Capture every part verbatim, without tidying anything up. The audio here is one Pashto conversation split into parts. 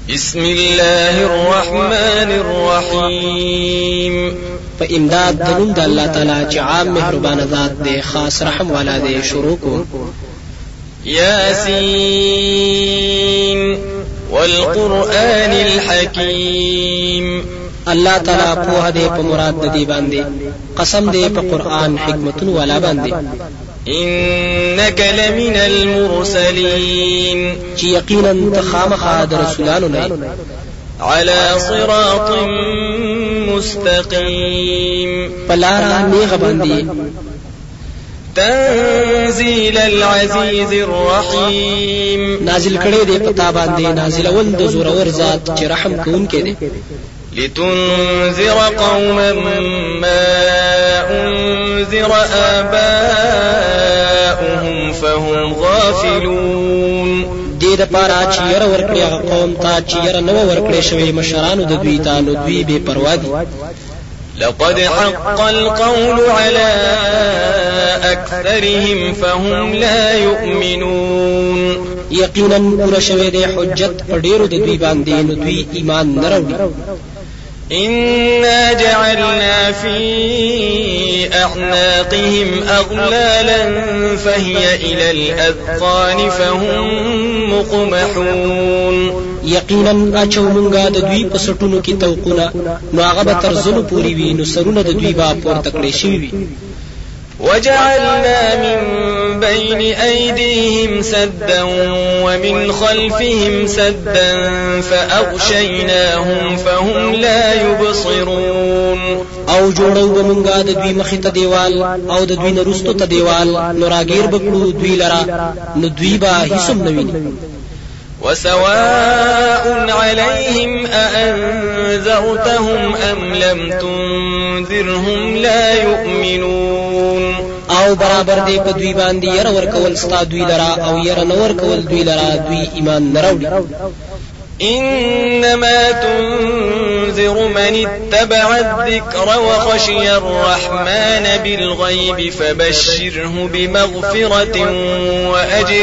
بسم الله الرحمن الرحيم. فإمداد دنم دا اللہ تعالی چی عام مہربان ذات دے خاص رحم والا دے شروع کو. یاسین والقرآن الحکیم. اللہ تعالی پوہ دے پا مراد دی باندے قسم دے پا قرآن حکمتن والا باندے. إنك لمن المرسلين. چی یقینا تخام خاد رسولانو نے على صراط مستقيم. پلارا نیغ باندی. تنزيل العزيز الرحيم. نازل کڑے دے پتا باندے نازل اول د زورور ذات چی رحم کون کے دے. لتنذر قوما ما أنذر آباؤهم فهم غافلون. دې د پاره چې ير ورکړي هغه قوم ته چې ير نو ورکړي شوی مشرانو د دوی ته نو دوی به پروا دي. لقد حق القول على أكثرهم فهم لا يؤمنون. یقینا پورا شوی د حجت په ډیرو د دوی باندې نو دوی ایمان نه راوړي. إنا جعلنا في أعناقهم أغلالا فهي إلى الأذقان فهم مقمحون. یقینا اچو مونږه د دوی په سټونو کې توقونه نو هغه به تر زلو پورې وي نو سرونه د دوی به پورته کړې شوي وي. وجعلنا من بين أيديهم سدا ومن خلفهم سدا فأغشيناهم فهم لا يبصرون. او جوړو به مونږه د دوی مخې ته دیوال او د دوی نه وروستو ته دیوال نو راګیر به کړو دوی لره نو دوی به هیڅ هم نه ویني. وسواء عليهم أأنذرتهم أم لم تنذرهم لا يؤمنون. او برابر دی په دوی باندې ير ورکول ستا دوی لرا او ير نو ورکول دوی لرا دوی ایمان نه راوړي. إنما تنذر من اتبع الذكر وخشي الرحمن بالغيب فبشره بمغفرة وأجر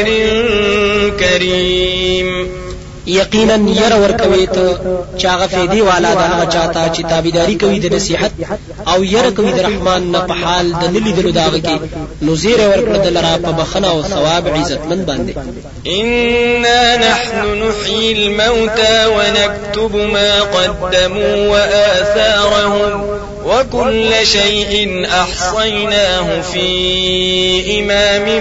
كريم. یقینا ير ورکوي ته چاغه فیدی والا د هغه چاته چې تابعداري کوي د نصيحت او ير کوي د رحمان نه په حال د نلی دلو داغه کې نو زیر ورکړه د لرا په بخنه او ثواب عزتمن باندې. إنا نحن نحيي الموتى ونكتب ما قدموا وآثارهم وكل شيء أحصيناه في إمام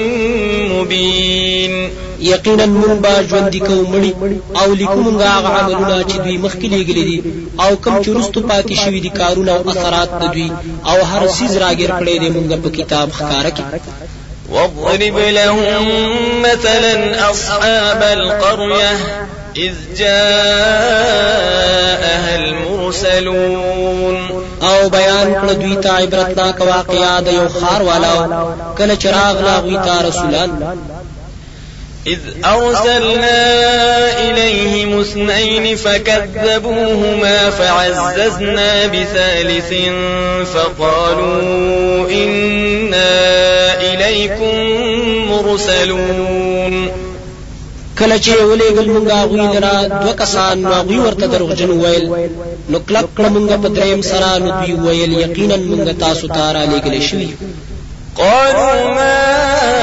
مبين. یقینا مون با ژوند کو مړي او لیکو مونږه هغه عملونه چې دوی مخکې لګلې دي او کم چې رستو پاتې شوی دي کارونه او اثرات د دوی او هر سیز راګر کړي دي مونږه په کتاب ښکارا کې. واضرب لهم مثلا أصحاب القرية إذ جاءها المرسلون. او بیان کړه دوی ته عبرتناک واقعا د یو خار والا کله چراغ لاغوي تا رسولان. إذ أرسلنا إليهم اثنين فكذبوهما فعززنا بثالث فقالوا إنا إليكم مرسلون. کله چې ولېګل مونږه غوی لرا دوه کسان نو غوی ورته دروغجن ویل نو کلک کړه مونږه په دریم سره نو دوی ویل یقینا مونږه تاسو ته را لېږلې شوي. قالوا ما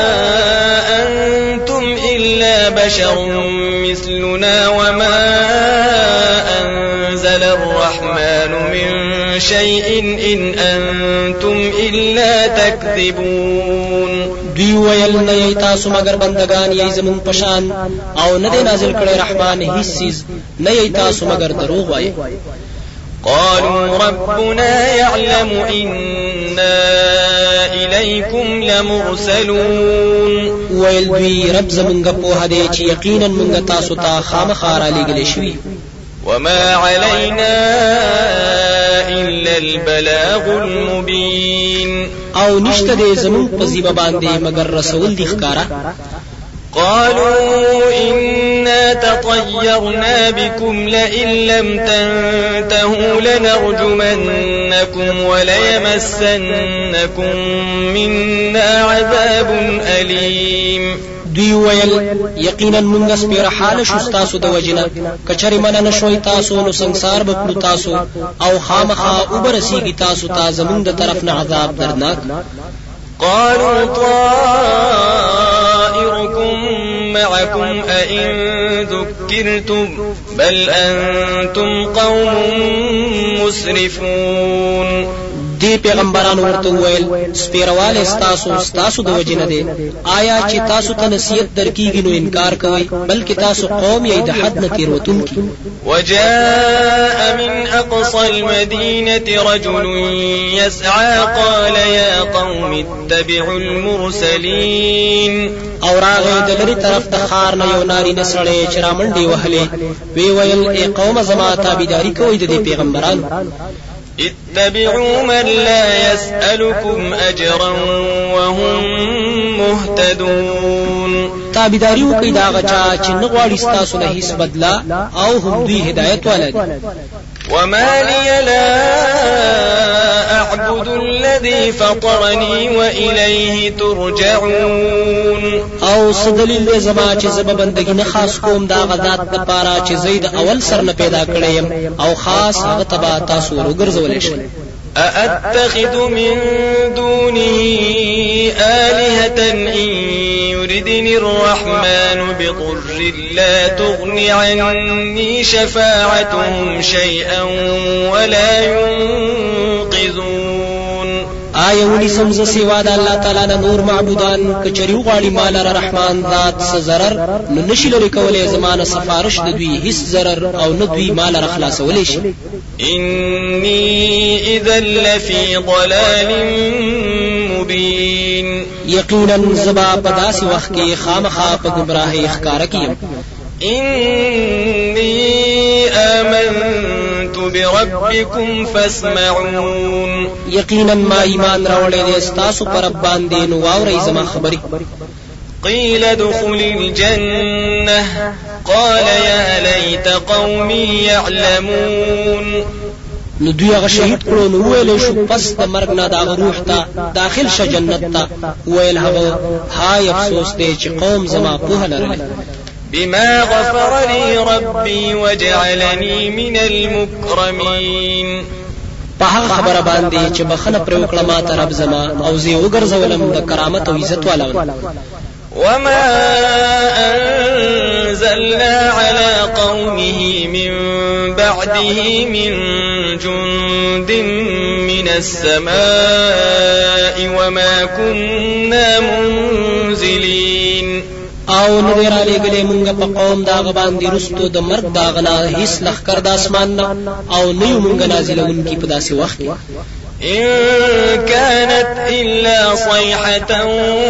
أنتم إلا بشر مثلنا وما أنزل الرحمن من شيء إن أنتم إلا تكذبون. دوی ویل نه یی تاسو مگر بندگان یی زمون پشان او نه دی نازل کړي رحمان هیڅ چیز نه یی تاسو مگر دروغ وایي. قالوا ربنا يعلم إنا إليكم لمرسلون. ویل دوی رب زمونږه په هدي چې یقینا مونږه تاسو ته خامخا را لېږلې شوي. وما علينا إلا البلاغ المبين. او نشته دې زمون په زیبه باندې مگر رسول دي ښکارا. قالوا إنا تطيرنا بكم لئن لم تنتهوا لنرجمنكم وليمسنكم منا عذاب أليم. دوی ویل یقینا مونږ سپیره حال شو تاسو د وجنه کچری من نه شوي تاسو نو ਸੰسار به تاسو او خامخا وبرسیږي تاسو ته زمونږ د طرف نه عذاب دردناک. قالوا طائركم معكم أئن ذكرتم بل أنتم قوم مسرفون. دی پیغمبرانو ورته ویل سپیرواله استاسو استاسو د وجنه دی آیا چې تاسو ته نصیحت درکېږي نو انکار کوئ بلکې تاسو قوم یې د حد نه تیروتونکي. وجاء من أقصى المدينة رجل يسعى قال يا قوم اتبعوا المرسلين. او راغی د لري طرف د خار نه یو ناری نسړې چې را منډې وهلې وی ویل ای قوم زما تابعداري کوئ د دې پیغمبرانو. اتبعوا من لا يسألكم أجرا وهم مهتدون. تابعداري وکړئ دا غچا چې نه غواړي ستاسو نه هیڅ بدلا او هم دوی هدایت ولري. وما لي لا أعبد الذي فطرني وإليه ترجعون. او صدلیل زما چې زب بندگی نه خاص کوم دا غذات د پاره چې زید اول سر نه پیدا کړم او خاص هغه تبا تاسو ورګرځولې شي. أأتخذ من دونه آلهة إن يردني الرحمن بضر لا تغن عني شفاعتهم شيئا ولا ينقذون. آیا ونی سمز سوا د الله تعالی نه نور معبودان کچری غواړي مال رحمان ذات س zarar نو نشي لري کولای زمانه سفارش د دوی هیڅ zarar او نه دوی مال را خلاصولې شي. إني إذا لفي ضلال مبين. یقینا زبا پداس وخت کې خامخا په گمراهی ښکارا کیم. إني آمنت بربكم فاسمعون. یقینا ما ایمان راوړی دې ستاسو پر رب باندې نو واورئ زما خبرې. قيل ادخل الجنة قال يا ليت قومي يعلمون. نو دوی هغه شهید کړو نو ویل شو پس د مرګ نه دا روح ته داخل شه جنت ته ویل هغه هاي افسوس دی چې قوم زما په لرل. بما غفر لي ربي وجعلني من المكرمين. په هغه خبره باندې چې بخنه پر وکړه ما ته رب زما او زه وګرځولم د کرامت او عزت والا. وما أنزلنا على قومه من بعده من جند من السماء وما كنا منزلين. او نو را لګلې مونږ په قوم داغه باندې رستو د مرګ داغنا هیڅ لخر د اسمان او نه مونږ نازلونکي په داسې وخت کې. إن كانت إلا صيحة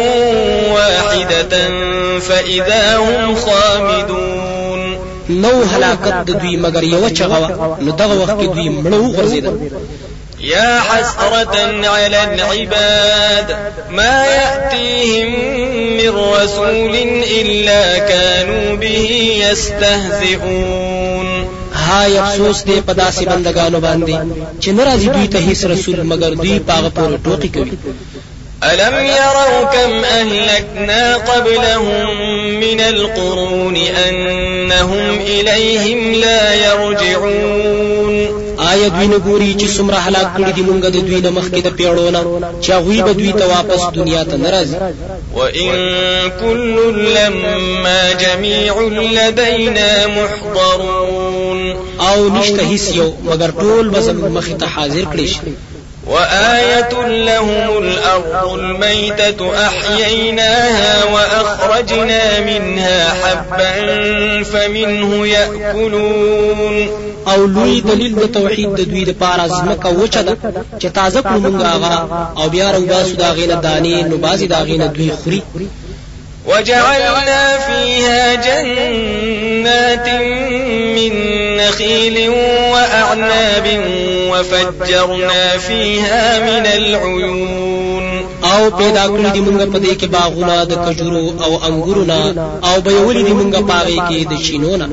واحدة فإذا هم خامدون. نو هلاکت د دوی مگر یو چغوا نو دغه وخت کې دوی مړو غرزیدل. يا حسرة على العباد ما يأتيهم من رسول إلا كانوا به يستهزئون. هاي افسوس دې په داسې بندگانو باندې چې ناراضي دوی ته هیڅ رسول مگر دوی پاغه پورې ټوکی کوي. ألم يروا كم أهلكنا قبلهم من القرون أنهم إليهم لا يرجعون. آیا دوی نه ګوري چې څومره هلاک کړي دي مونږ د دوی نه مخکې د پیړونو چې هغوی به دوی ته واپس دنیا ته ناراضي. وإن كل لما جميع لدينا محضرون. او نشته هیڅ یو مگر ټول به زموږ مخې ته حاضر کړي شي. وآية لهم الأرض الميتة أحييناها وأخرجنا منها حبا فمنه يأكلون. او لوی دلیل د توحید د دوی د پاره ځمکه وچه ده چې تازه کړو مونږ هغه او بیا راوباسو دا غینه دانې نو بازي دا غینه دوی خوري. وجعلنا فيها جنات من نخيل وأعناب وفجرنا فيها من العيون. او پیدا کړی دی مونږ په دې کې باغونه د کجورو او انګورونه او به ولې دی مونږ پاره کې د چینونه.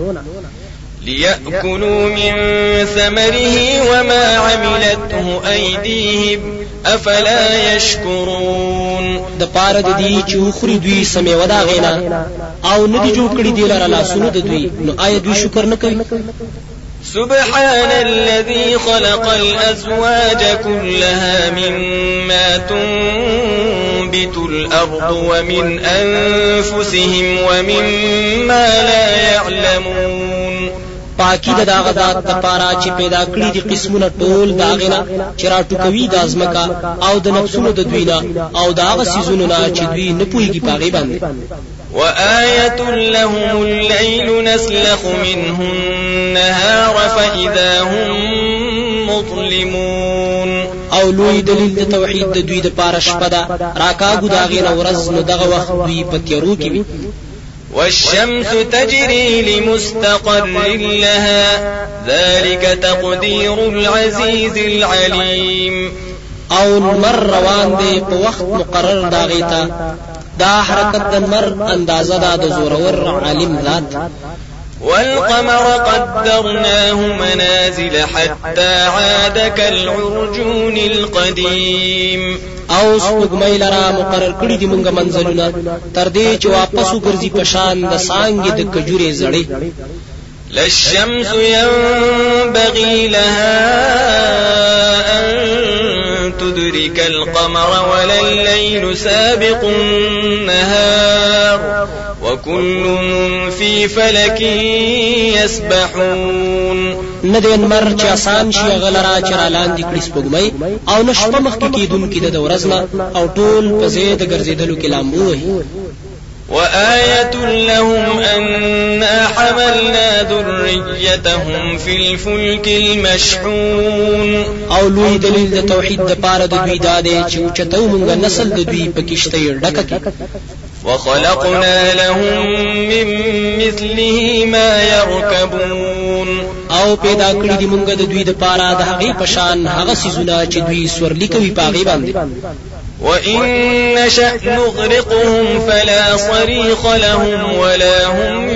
ليأكلوا من ثمره وما عملته أيديهم افلا يشكرون د پاره د دې چې وخوري دوی سمې ودا غینا او ندي جوړ کړی دی لره لاسونه د دوی نو آیا دوی شکر نه کوي سبحان الذي خلق الأزواج كلها مما تنبت الأرض ومن أنفسهم ومما لا يعلمون پاکی د داغه ذات د پاره چې پیدا کړی دي قسمونه ټول داغینا چې راټوکوي د ازمکا او د نفسونو د دوینا او داغه سيزونو نه چې دوی نه پوهیږي پاغي باندې وآية لهم الليل نسلخ منه النهار فإذا هم مظلمون او لوی دلیل د توحید د دوی د پاره شپه ده راکاګو داغینا ورځ نو دغه وخت دوی په تیارو کې وي والشمس تجري لمستقر لها ذلك تقدير العزيز العليم او نمر روان دی په وخت مقرر داغیتا دا حرکت د نمر اندازه دا د زورور عالم ذات والقمر قدرناه منازل حتى عاد كالعرجون القديم او سپوږمۍ لرا مقرر کړی دی مونږه منزلونه تر دې چې واپس وګرځي په شان د سانګې د کجورې زړې لا الشمس ينبغي لها أن تدرك القمر ولا الليل سابق النهار وكل في فلك يسبحون ندی انمر چې آسان شي غلرا چې را لاندې کړي سپوږمۍ او نشپه مخ کې کېدونکې د ورځنا او ټول په زید ګرځېدلو کې لامبو وي وآية لهم أنا حملنا ذريتهم في الفلك المشحون او لوی دلیل د توحید د پاره د دوی داده چې اوچتو مونږه نسل د دوی په کشته ډکه کې وخلقنا لهم من مثله ما يركبون او پیدا کړی دی مونږ د دوی د پاره د هغه پشان هغه سيزونه چې دوی سورلی کوي پاغي باندې وإن نشأ نغرقهم فلا صريخ لهم ولا هم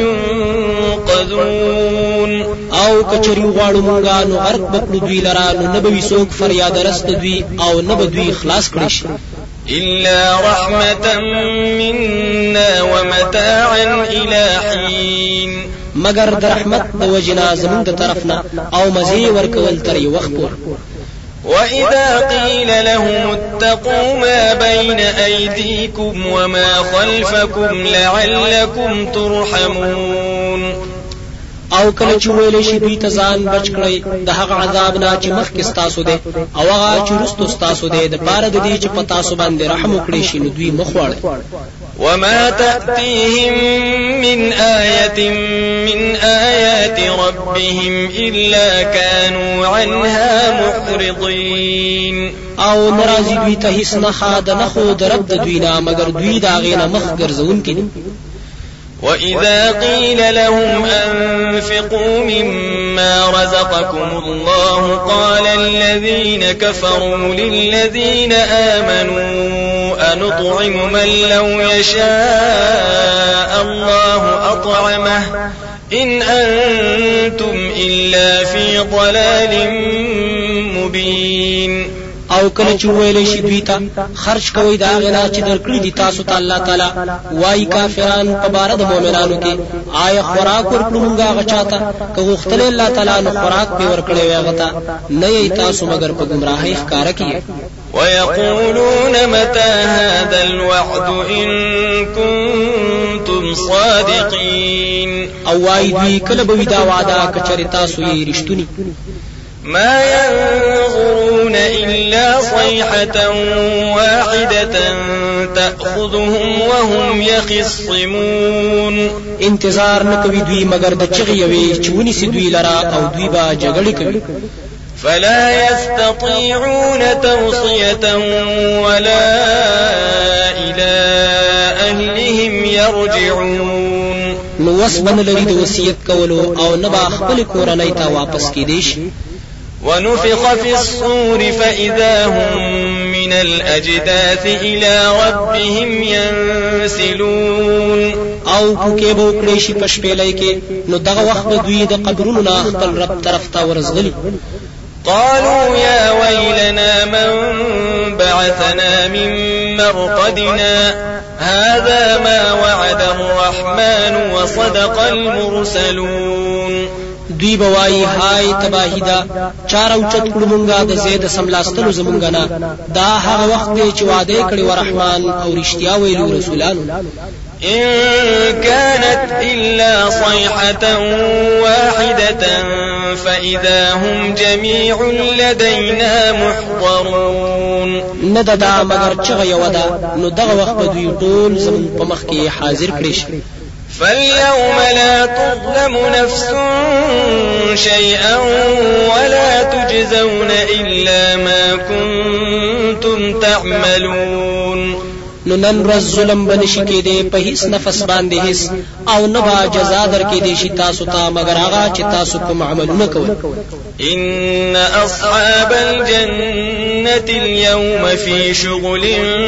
ينقذون او کچری غواړو مونږه نو غرق بکړو دوی لرا نو نبوي سوق فریاد رست دوی او نبو دوی خلاص کړی شي إلا رحمة منا ومتاعا إلى حين مگر د رحمت د وجنا زمون د طرفنا او مزي ورکول تر یو وخت پور وإذا قيل لهم اتقوا ما بين أيديكم وما خلفكم لعلكم ترحمون او کله چې ویلې شي دوی ته ځان بچ کړئ د هغه عذاب نه چې مخکې ستاسو دی او هغه چې وروسته ستاسو دی د پاره د دې چې په تاسو باندې رحم وکړي شي نو دوی مخ واړي وما تأتيهم من آية من آيات ربهم إلا كانوا عنها معرضين او ناراضي دوی ته هیڅ نه خاد نه خو د رب د دوی نه مگر دوی دا غینه مخ ګرځون کړي وإذا قيل لهم أنفقوا مما رزقكم الله قال الذين كفروا للذين آمنوا أنطعم من لو يشاء الله أطعمه إن أنتم إلا في ضلال مبين او کله چې ویلې شي دوی ته خرج کوي دا غنا چې درکړي دي تاسو ته الله تعالی وای کافران په بار د مؤمنانو کې آیا خوراک ورکړو مونږه غچاته که غختل الله تعالی نو خوراک به ورکړي وي غتا نه یې تاسو مگر په گمراهۍ ښکار کیږي ويقولون متى هذا الوعد إن كنتم صادقين او وای دوی کله به دا وعده کچری تاسو یې رښتونی ما ينظرون إلا صيحة واحدة تأخذهم وهم يخصمون انتظار نکوي دوی مگر د چغې وي چونی سي دوی لرا او دوی با جګړه کوي فلا يستطيعون توصية ولا إلى أهلهم يرجعون نو وسبن لري د وصیت کولو او نه با خپل کورنۍ ته واپس کیدي شي ونفخ في الصور فإذا هم من الأجداث إلى ربهم ينسلون او کوکې به وکړي شي په شپېلۍ کې نو دغه وخت دوی د قبرونو نه خپل رب طرف ته ورزغلي قالوا يا ويلنا من بعثنا من مرقدنا هذا ما وعد الرحمن وصدق المرسلون. دوی بوای هاي تباہی دا چار او چت کړو مونږه د زید سملاستلو زمونږه نه دا هغه وخت دی چې وعده کړی و رحمان او رښتیا ویلو رسولانو. إن كانت إلا صيحة واحدة فإذا هم جميع لدينا محضرون. ندا دا مگر چغه یو دا نو دغه وخت په دوی ټول زمون په مخ کې حاضر کړي شي. فاليوم لا تظلم نفس شيئا ولا تجزون إلا ما كنتم تعملون. نو نن ورځ ظلم بنشي کېده په هیڅ نفس باندې هیڅ او نه با جزا درکې دي شي تاسو ته مگر هغه چې تاسو کوم عملونه کوئ. إن أصحاب الجنة اليوم في شغل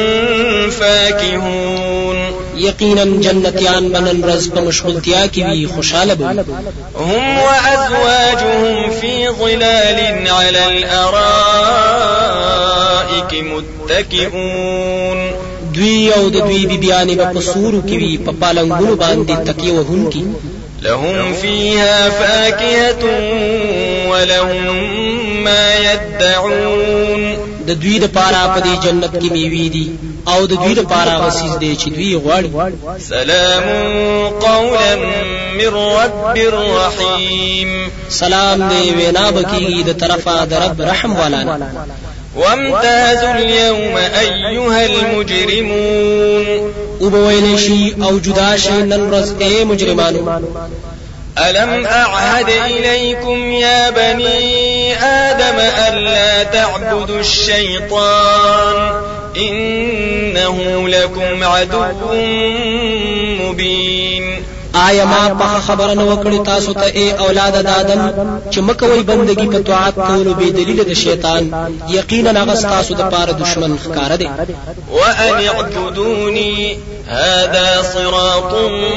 فاكهون. یقینا جنتیان بنن رز په مشغولتیا کې وي خوشاله به. هم وأزواجهم في ظلال على الأرائك متكئون. دوی او د دوی بیبیانې په سورو کې وي په پالنګونو باندې تکیه وهونکي. لهم فيها فاكهة ولهم ما يدعون. د دوی د پاره په دې جنت کې میوې دي او د دوی د پاره غسیز دی چې دوی غواړي. سلام قولا من رب رحيم. سلام دی وینا بکیږي د طرفه د رب رحم والا. وامتازوا اليوم أيها المجرمون. وبویل شي او جدا شي نن ورځ اے مجرمانو. ألم أعهد إليكم يا بني آدم ألا تعبدوا الشيطان إنه لكم عدو مبين. آیا ما په خبره نه وکړی تاسو ته اے اولاد د آدم چې مکوې بندگی په طاعت کولو به دلیل د شیطان یقینا هغه تاسو د پاره دشمن ښکار دی. وأن اعبدوني هذا صراط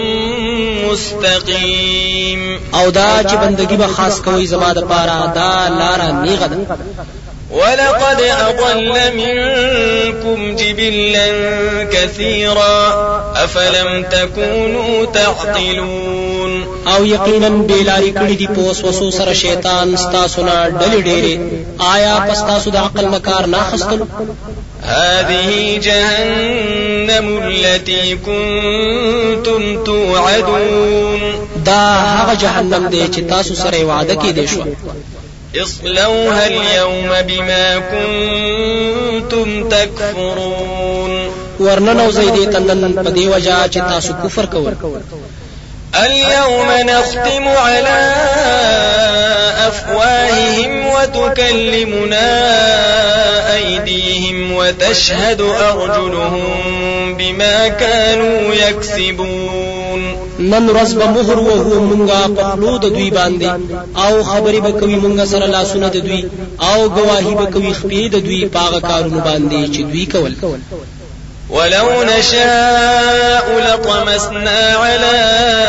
مستقيم. او دا چې بندگی به خاص کوي زما د پاره دا لار نیغه ده. ولقد أضل منكم جبلا كثيرا أفلم تكونوا تعقلون. او یقینا بیلاری کړي دي په وسوسو سره شیطان ستاسو نه ډلې ډېرې آیا پس تاسو د عقل نه کار نه اخیستل. هذه جهنم التي كنتم توعدون. دا هغه جهنم دی چې تاسو سره وعده کړی شو. اصلوها اليوم بما كنتم تكفرون. ورننو زیدی تنن په دی وجہ چې تاسو کفر کوئ. اليوم نختم على أفواههم وتكلمنا أيديهم وتشهد أرجلهم بما كانوا يكسبون. نن ورځ به مهر وهو مونږه په خلو د دوی باندې او خبرې به کوي مونږه سره لاسونه د دوی او گواهی به کوي خپې د دوی پاغه کارونه باندې چې دوی کول. ولو نشاء لطمسنا على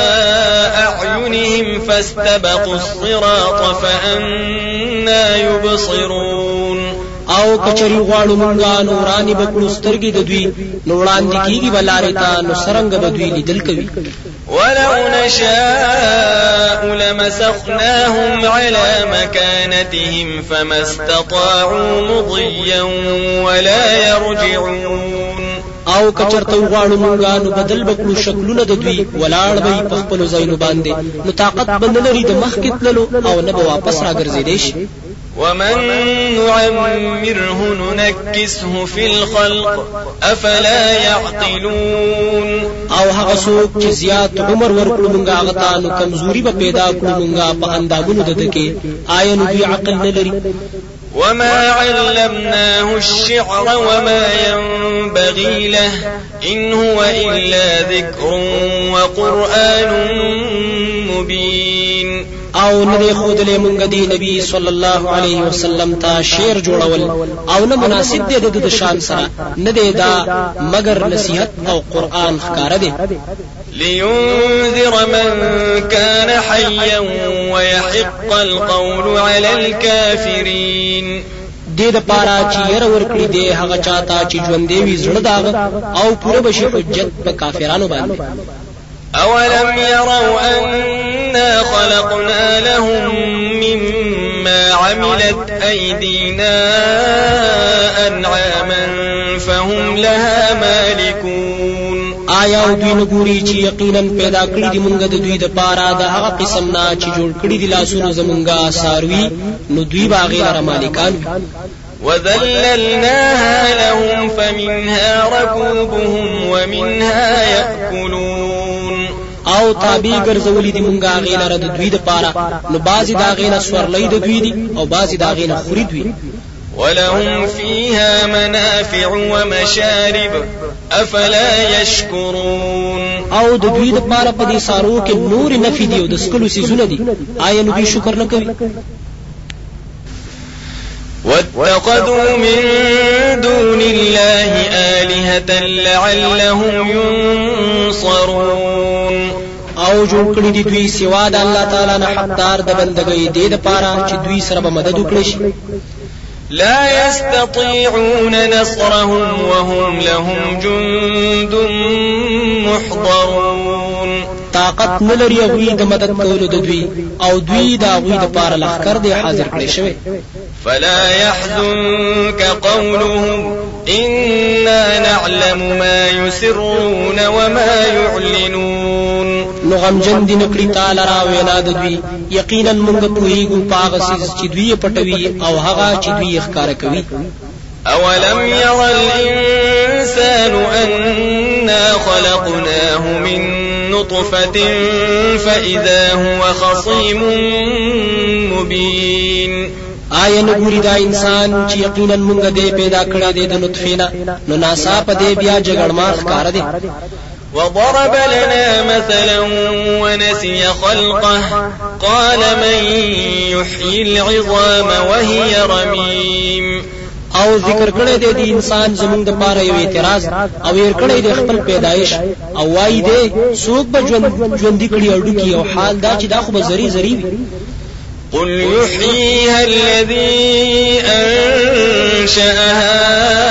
أعينهم فاستبقوا الصراط فأنا يبصرون. او کچری غواړو مونږه نورانی بکړو سترګې د دوی نو وړاندې کیږي بلارې ته نو سرنګ به دوی لیدل کوي. ولو نشاء لمسخناهم على مكانتهم فما استطاعوا مضيا ولا يرجعون. او کچرته غواړو مونږه نو بدل بکړو شکلونه د دوی ولاړ به په خپل ځایونو باندې نو طاقت بند لري د مخ کې تللو او نه به واپس راګرځېدې شي. ومن نعمره ننكسه في الخلق أفلا يعقلون. او هغه څوک چې زیات عمر ورکړو مونږه هغه ته نو کمزوري به پیدا کړو مونږه په اندامونو د دکې آیا نو دوی عقل نه لري. وما علمناه الشعر وما ينبغي له إن هو إلا ذكر وقرآن مبين. او نه خود له مونږ دی نبی صلی الله علیه وسلم ته شعر جوړول او نه مناسب دی د شان سره نه دی دا مگر نصیحت او قرآن ښکار دی. لينذر من كان حيا ويحق القول على الكافرين دې د پاره چې ير ورکړي دې هغه چاته چې ژوند دی زړه داغ او پوره بشي حجت په کافرانو باندې. أولم يروا أنا خلقنا لهم مما عملت أيدينا أنعاما فهم لها مالكون. آیا دوی نګوري چې یقینا پیدا کړی دی مونږ د دوی د پاره د هغه قسم نه چې جوړ کړی دی لاسونو زمونږه ساروي نو دوی باغې لپاره مالکان. وذللناها لهم فمنها ركوبهم ومنها يأكلون. او تابع ګرځولې دي مونږه هغه لپاره د دوی د پاره نو بازي دا غینه سورلې د دوی دي او بازي دا غینه خوري دوی. ولهم فيها منافع ومشارب افلا يشكرون. او د دوی د پاره په دې سارو کې نور نفي دي او د سکلو سيزونه دي آیا نو دوی شکر نه کوي؟ واتخذوا من دون الله آلهة لعلهم ينصرون. او جوړ کړی دي دوی سوا د الله تعالی نه حقدار د بندګۍ دې د پاره چې دوی سره به مدد وکړي شي. لا يستطيعون نصرهم وهم لهم جند محضرون. طاقت نلري هغوی د مدد کولو د دوی او دوی د هغوی د پاره لښکر دی حاضر کړی شوی. فلا يحزنك قولهم إنا نعلم ما يسرون وما يعلنون. نو غمجن دي نکړي تعالی را وینا د دوی یقینا موږ پوهیږو پاغه چې دوی پټوي او هغه چې دوی ښکارا کوي. أولم ير الإنسان أنا خلقناه من نطفة فإذا هو خصيم مبين. آیا نګوري دا انسان چې یقینا موږ دې پیدا کړی دی د نطفه نه نو ناصاف دې بیا جګړمار ښکار دی. وضرب لنا مثلا ونسي خلقه قال من يحيي العظام وهي رميم. او ذکر کړی دی د انسان زمونږ د پاره یو اعتراض او ير کړی دی خپل پیدایش او وای دی څوک به ژوند ژوند کړي او ډکی او حال دا چې دا خو به زری زری وي. قل يحييها الذي أنشأها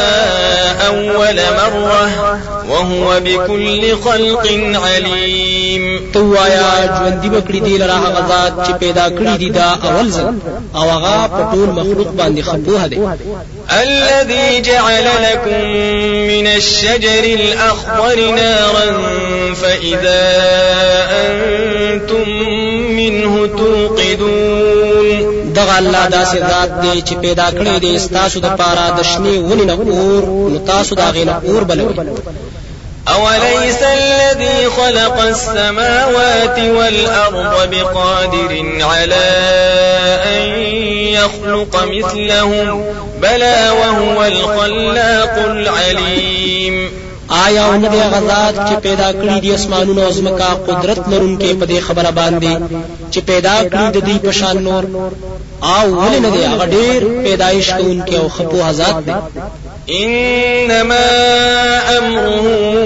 أول مرة وهو بكل خلق عليم. تو آیا ژوندۍ بکړي دی لره هغه ذات چې پیدا کړی دی دا اول ځل او هغه په ټول مخلوق باندې خپوه دی. الذي جعل لكم من الشجر الأخضر نارا فإذا أنتم منه توقدون. دغه الله داسې ذات دی چې پیدا کړی دی ستاسو د پاره د شنې ونې نه اور نو تاسو دا غینه اور بلوي. أوليس الذي خلق السماوات والأرض بقادر على أن يخلق مثلهم بلى وهو الخلاق العليم. آیا ان دې غزاد چې پیدا کړی دي اسمانونو او زمکا قدرت لرونکي په دې خبره باندې چې پیدا کړی د دې په شان نور او ولې نه دی هغه ډېر پیدایش کوونکی او خپو ذات دی. إنما أمره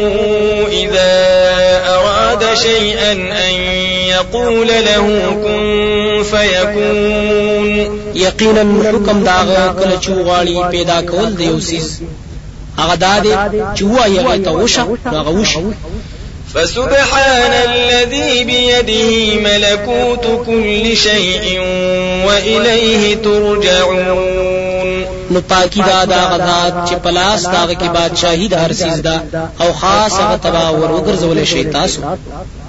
إذا أراد شيئا أن يقول له كن فيكون. یقینا حکم داغه کله چې غواړي پیدا کول دی یو سیز هغه دادی چې وایي هغه ته وشه هغه وشه. فسبحان الذي بيده ملكوت كل شيء وإليه ترجعون. نو پاکی دا دا غزاد چې پلاس داغه کې بادشاہي د هر سیز دا او خاص هغه تبا ور وګرځول شي تاسو.